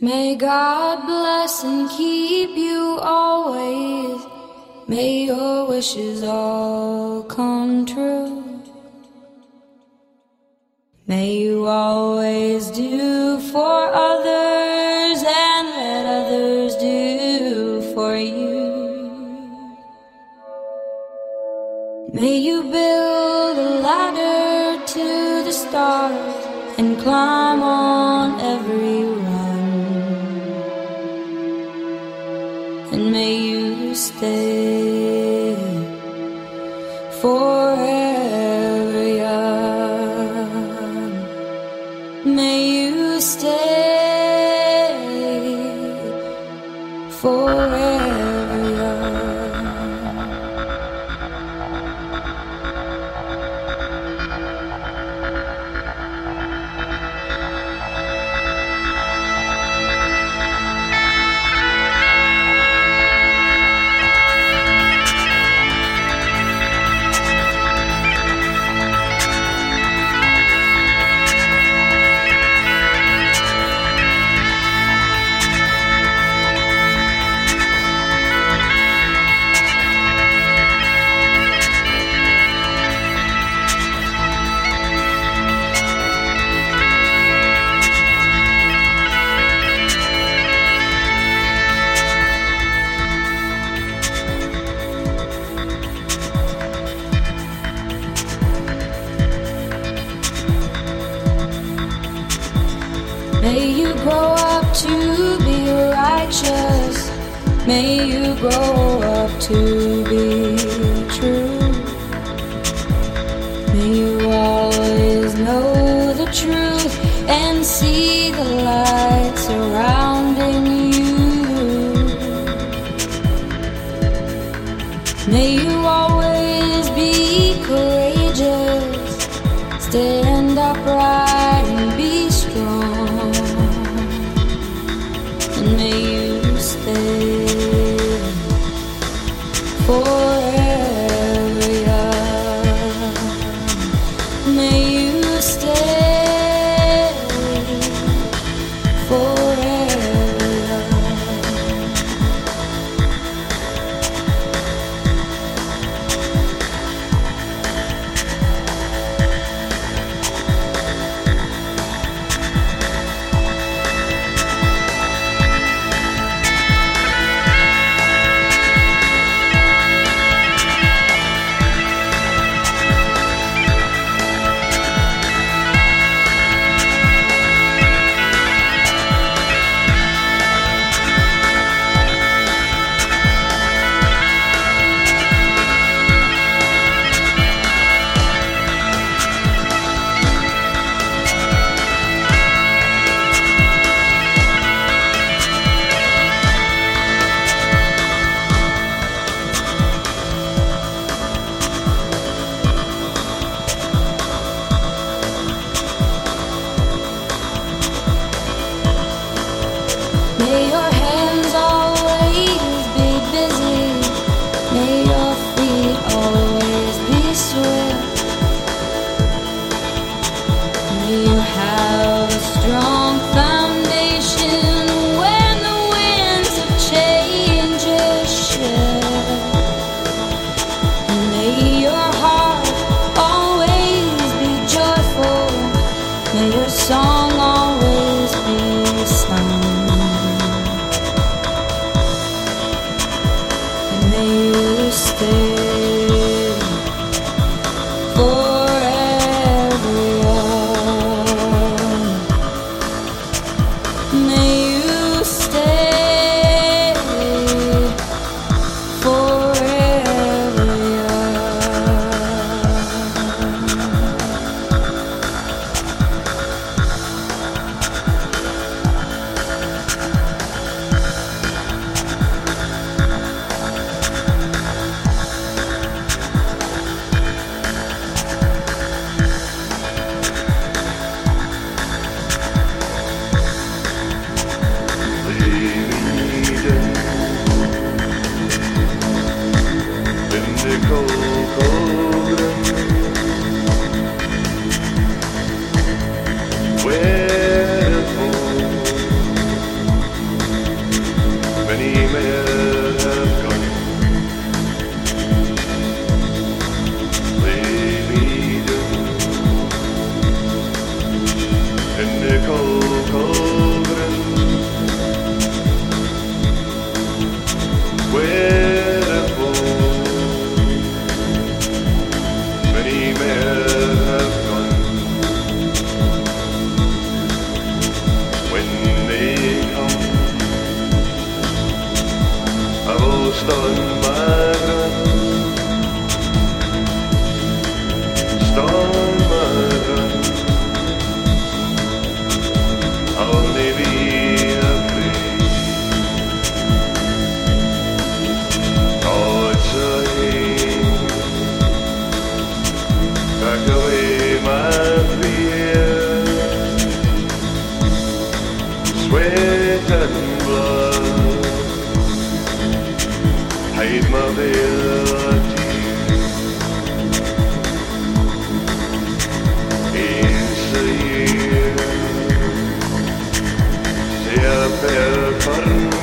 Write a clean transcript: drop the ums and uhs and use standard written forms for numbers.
May God bless and keep you always. May your wishes all come true. May you always do for others and let others do for you. May you build a ladder to the stars and climb on every run. And may you stay forever young. May you stay forever young. May you grow up to be righteous. May you grow up to be true. May you always know the truth and see the light surrounding you. May you always be courageous. Stand upright and be strong. And may you stay forever young. May you stay forever young. May your hands always be busy. May your feet always be swift. May you have a strong foundation when the winds of change shift. And may your heart always be joyful. May your song always be sung. stolen my gun, stolen my gun. I'll only be afraid. Oh, it's a hate. Pack away my fear, sweat and blood. Hide my veil of tears. It's a year. Se ha perdido.